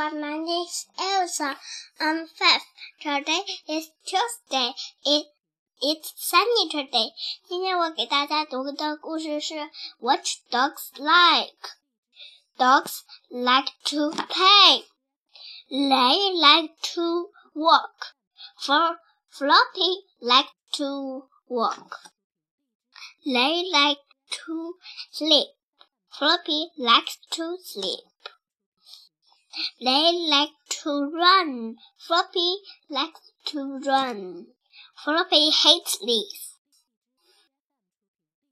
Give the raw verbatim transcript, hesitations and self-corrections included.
everyone, my name is Elsa. I'm five. Today is Tuesday. It it's sunny today. 今天我给大家读的故事是 What dogs like. Dogs like to play. They like to walk. For Floppy like to walk. They like to sleep. Floppy likes to sleep. They like to run. Floppy likes to run. Floppy hates this.